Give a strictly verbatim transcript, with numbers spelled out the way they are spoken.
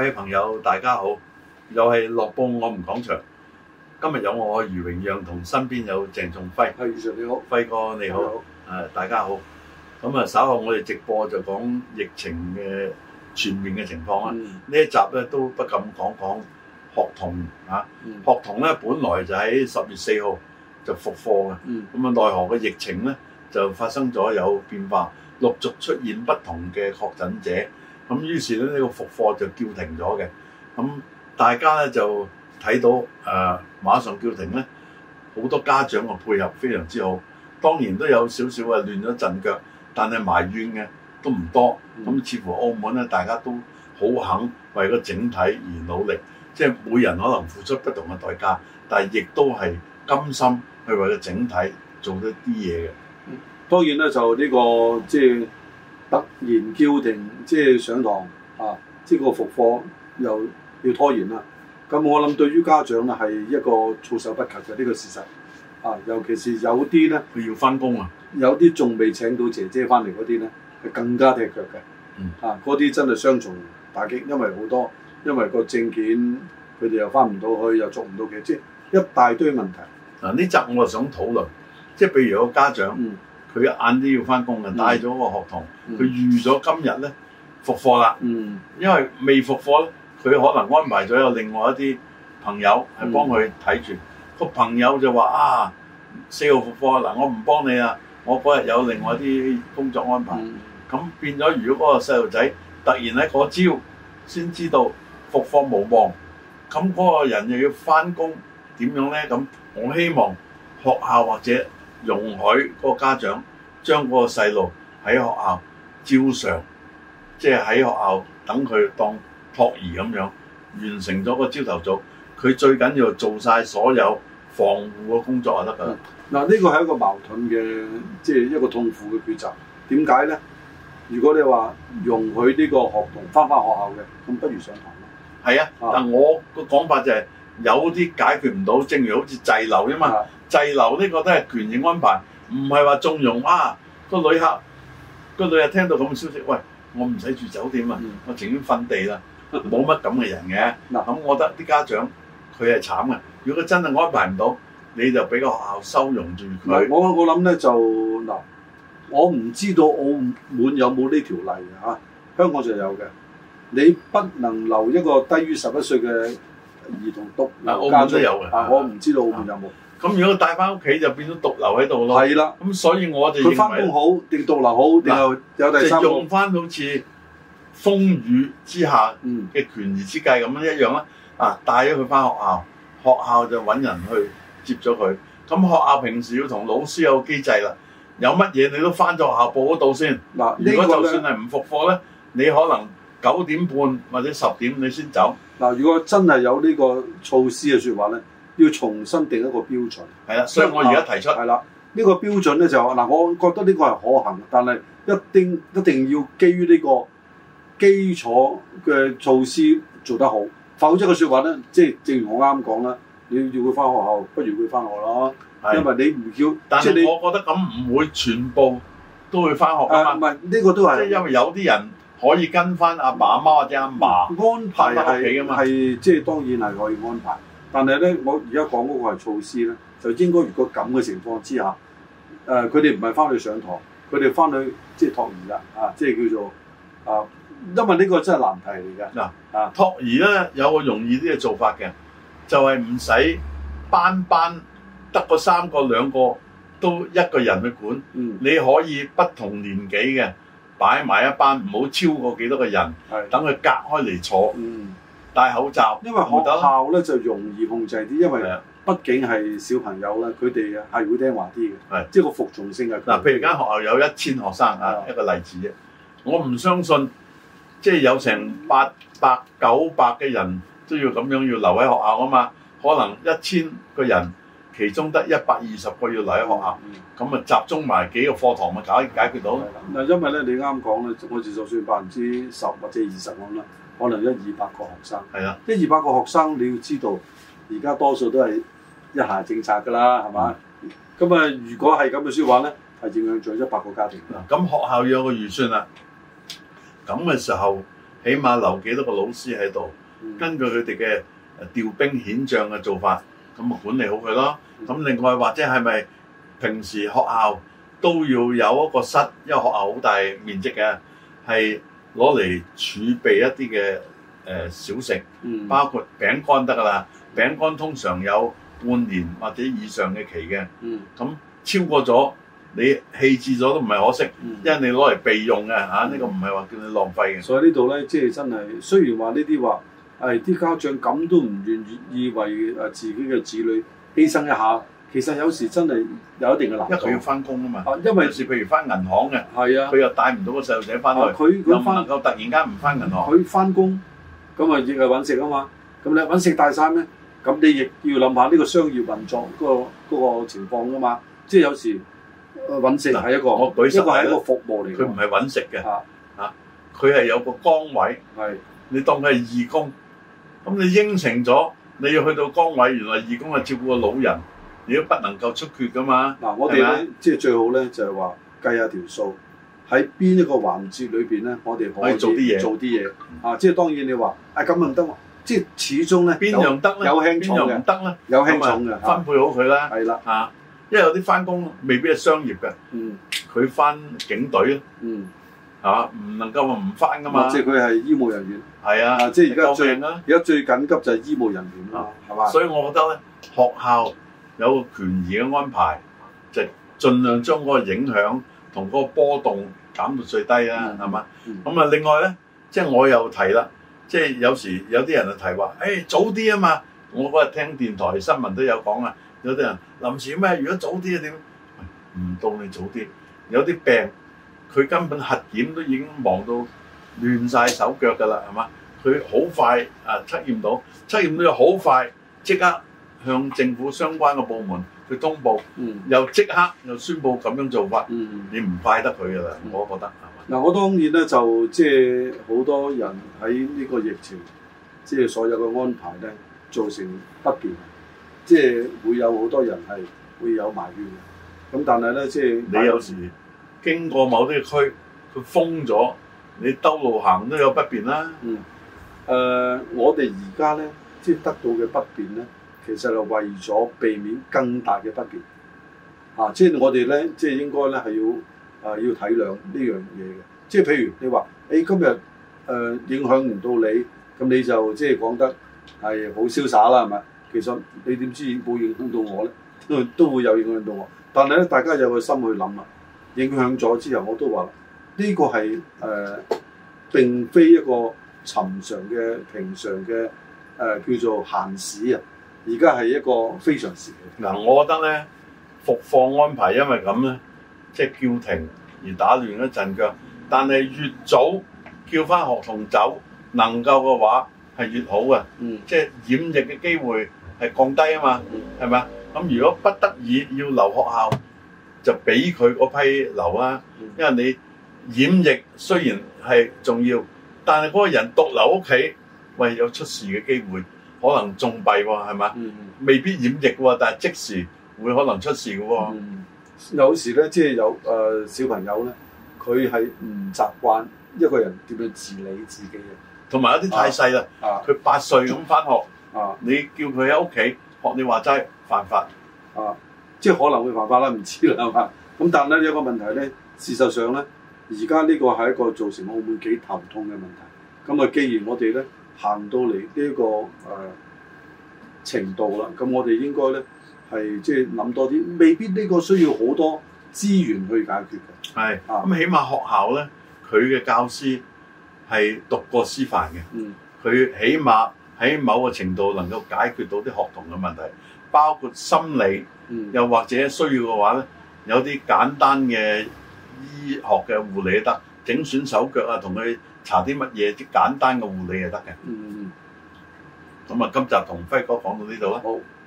位朋友大家好，又係樂報我們講場。今日有我余榮讓同身邊有鄭仲輝。 係，余 Sir 你好， 輝哥你好，誒大家好。咁啊稍後我哋直播就講疫情嘅全面嘅情況啦。呢、嗯、一集咧都不禁講講學童啊，嗯、學童咧本來就喺十月四號就復課嘅，咁啊、嗯、奈何嘅疫情咧就發生咗有變化，陸續出現不同嘅確診者。咁於是咧呢個復課就叫停咗嘅，咁大家咧就睇到誒、呃、馬上叫停咧，好多家長嘅配合非常之好，當然都有少少啊亂咗陣腳，但係埋怨嘅都唔多。咁、嗯、似乎澳門咧大家都好肯為個整體而努力，即係每人可能付出不同嘅代價，但係亦都係甘心去為個整體做一啲嘢嘅。 當然咧就呢、這個即係。突然叫停，即係上堂啊！即係個復課又要拖延啦。咁我諗對於家長咧係一個措手不及嘅呢、這個事實啊！尤其是有啲咧， 佢要翻工啊， 有啲仲未請到姐姐翻嚟嗰啲咧，係更加踢腳嘅。嗯、啊，嗰啲真係雙重打擊，因為好多因為個證件佢哋又翻唔到去，又做唔到嘅，即係一大堆問題。嗱、啊， 呢集我就想討論，即係譬如有個家長。嗯佢晏啲要翻工嘅，帶咗個學童，佢、嗯、預咗今日咧復課啦。嗯，因為未復課咧，佢可能安排咗有另外一啲朋友係幫佢睇住。個、嗯、朋友就話啊，四號復課嗱，我唔幫你啦，我嗰日有另外一啲工作安排。咁、嗯、變咗，如果嗰個細路仔突然喺嗰朝先知道復課無望，咁嗰個人又要翻工，點樣咧？咁我希望學校或者容許嗰個家長將嗰個細路喺學校照常，即係喺學校等佢當托兒咁樣完成咗個朝頭早。佢最緊要做晒所有防護嘅工作就得㗎啦。嗱、嗯，呢個係一個矛盾嘅，即係一個痛苦嘅抉擇。點解咧？如果你話容許呢個學童翻返學校嘅，咁不如上堂咯。係啊，啊但我個講法就係、是、有啲解決唔到，正如好似滯留啫嘛。啊滯留呢個都係權益安排，唔係話縱容啊！個旅客個旅客聽到咁嘅消息，喂，我唔使住酒店啊，嗯、我情願瞓地啦，冇乜咁嘅人嘅。嗱，咁我覺得啲家長佢係慘嘅。如果佢真係安排唔到，你就俾個學校收容住佢。我我諗咧就嗱，我唔知道澳門有冇呢條例嘅嚇，香港就有嘅。你不能留一個低於十一歲嘅兒童獨留家都有嘅。啊，我唔知道澳門有冇。咁如果帶翻屋企就變咗獨留喺度咯。係啦的，咁所以我就認為佢翻工好定獨留好定係有第三個。就用翻好似風雨之下嘅權宜之計咁樣一樣啦。啊，帶咗佢翻學校，學校就揾人去接咗佢。咁學校平時要同老師有機制啦。有乜嘢你都翻咗學校報嗰度先。嗱，如果就算係唔復課咧，你可能九點半或者十點你先走。嗱，如果真係有呢個措施嘅説話咧，要重新定一個標準，係啦，所以我而家提出係啦，呢個標準咧就嗱，我覺得呢個係可行，但係一定一定要基於呢個基礎嘅措施做得好，否則嘅説話咧，即係正如我啱講啦，你要佢翻學校，不如佢翻學咯，的因為你唔叫，但係你我覺得咁唔會全部都會翻學啊嘛，唔係呢個都係，即係因為有啲人可以跟翻阿爸阿媽或者阿嫲安排喺屋企㗎嘛，係即係當然係可以安排。但係咧，我而家講嗰個係措施咧，就應該如果咁嘅情況之下，誒佢哋唔係翻去上堂，佢哋翻去即係托兒啦，啊，即係叫做啊，因為呢個真係難題嚟嘅。嗱啊，托兒咧有個容易啲嘅做法嘅，就係唔使班班得個三個兩個都一個人去管，嗯、你可以不同年紀嘅擺埋一班，唔好超過幾多個人，等佢隔開嚟坐。嗯戴口罩，因為學校咧就容易控制啲，因為畢竟係小朋友咧，佢哋係會聽話啲嘅，係即係個服從性係。嗱，譬如間學校有一千學生啊，一個例子啫。我唔相信，即係有成八百九百嘅人都要咁樣要留喺學校啊嘛。可能一千個人，其中得一百二十個要留喺學校，咁啊、嗯、集中埋幾個課堂咪解解決到。嗱，因為咧你啱講咧，我哋就算百分之十或者二十咁啦。可能一二百個學生，係啊，一二百個學生，你要知道，而家多數都係一孩政策㗎啦，係嘛？咁啊、嗯，如果係咁嘅説話咧，係影響咗一百個家庭。嗱、嗯，咁學校要有個預算啦。咁嘅時候， 起碼留幾多個老師喺度，嗯、根據佢哋嘅調兵遣將嘅做法，咁啊管理好佢咯。咁、嗯、另外或者係咪平時學校都要有一個室，因為學校好大面積嘅，係攞嚟儲備一啲嘅誒小食，嗯、包括餅乾得㗎啦。餅乾通常有半年或者以上嘅期嘅，咁、嗯、超過咗你棄置咗都唔係可惜，嗯、因為你攞嚟備用嘅嚇，呢、啊呢個唔係話叫你浪費嘅。 所以呢度咧，即係真係雖然話呢啲話，誒啲家長咁都唔願意為誒自己嘅子女犧牲一下，其實有時真係有一定嘅難度。因為佢要翻工啊嘛， 啊因為有時譬如翻銀行嘅， 係啊， 佢又帶唔到個細路仔翻去，佢佢翻能夠突然間唔翻銀行， 佢翻工咁啊亦係揾食啊嘛，咁你揾食大晒咩？咁你亦要諗下呢個商業運作嗰、嗰個嗰個情況噶嘛，即係有時揾食係一個， 我舉一個係一個服務嚟， 佢唔係揾食嘅， 啊啊，佢係有個崗位， 係是你當佢係義工，咁你應承咗你要去到崗位，原來義工係照顧個老人，你都不能夠出缺噶嘛。嗱、 啊，我哋咧即係最好咧就係話計下條數，喺邊一個環節裏邊咧，我哋可以做啲嘢，做啲嘢啊！即係當然你話啊咁唔得喎。即係始終咧， 邊樣得咧？ 有輕重嘅，邊樣唔得咧？ 有輕重嘅， 分配好佢啦。 係啦， 嚇，因為有啲翻工未必係商業嘅， 嗯， 佢翻警隊，嗯，係嘛？唔能夠話唔翻噶嘛。 即係佢係醫務人員。係啊， 即係而家最而家最緊急就係醫務人員啦，係嘛？ 所以我覺得咧，學校有個權宜嘅安排，就盡量將嗰個影響同嗰個波動減到最低啦，係嘛？咁啊，另外咧，即係我又提啦。即係有時有啲人就提話，誒、欸、早啲啊嘛！我嗰日聽電台新聞都有講啊，有啲人臨時咩？如果早啲啊點？唔到你早啲，有啲病佢根本核檢都已經忙到亂晒手腳㗎啦，係嘛？佢好快啊測驗到，測驗到又好快，即刻向政府相關嘅部門去通報，嗯、又即刻又宣佈咁樣做法，嗯、你唔怪得佢㗎啦，我覺得。 嗱，我當然咧就即係好多人喺呢個疫情，即係所有嘅安排咧造成不便，即係會有好多人係會有埋怨嘅。咁但係咧，即係你有時經過某啲區，佢封咗，你兜路行都有不便啦。 嗯。誒、呃，我哋而家咧，即係得到嘅不便咧，其實係為咗避免更大嘅不便。啊，即係我哋咧，即係應該咧係要。啊！要體諒呢樣嘢嘅，即係譬如你話，誒、欸、今日誒、呃、影響唔到你，咁你就即係講得係好瀟灑啦，係咪？其實你點知冇影響到我咧？都都會有影響到我。但係咧，大家有個心去諗啦，影響咗之後，我都話呢、這個係誒、呃、並非一個尋常嘅平常嘅誒、呃、叫做閒事啊，而家係一個非常時期。 嗱，我覺得咧復課安排因為咁咧。即係叫停而打亂咗陣腳，但係越早叫翻學童走，能夠嘅話係越好嘅。嗯，即係染疫嘅機會係降低啊嘛，係咪啊？咁如果不得已要留學校，就俾佢嗰批留啦。因為你染疫雖然係重要，但係嗰個人獨留屋企，喂有出事嘅機會，可能仲弊喎，係咪？嗯、未必染疫喎，但係即時會可能出事嘅喎。嗯有時咧，即係有誒、呃、小朋友咧，佢係唔習慣一個人點樣自理自己嘅， 同埋有啲太細啦，佢八歲咁返學， 啊、 你叫佢喺屋企學你話齋犯法， 啊，即係可能會犯法啦，唔知啦，係嘛？咁但係咧有個問題咧，事實上咧，而家呢個係一個造成澳門幾頭痛嘅問題。咁啊，既然我哋咧行到嚟呢、這個誒、呃、程度啦，咁我哋應該咧。係即係諗多啲，未必呢個需要好多資源去解決嘅。 係咁是，啊、起碼學校咧，佢嘅教師係讀過師範嘅。嗯，佢起碼喺某個程度能夠解決到啲學童嘅問題，包括心理，嗯、又或者需要嘅話咧，有啲簡單嘅醫學嘅護理都得，整損手腳啊，同佢搽啲乜嘢，啲簡單嘅護理就得嘅。嗯嗯。咁啊，今集同輝哥講到呢度啦。好。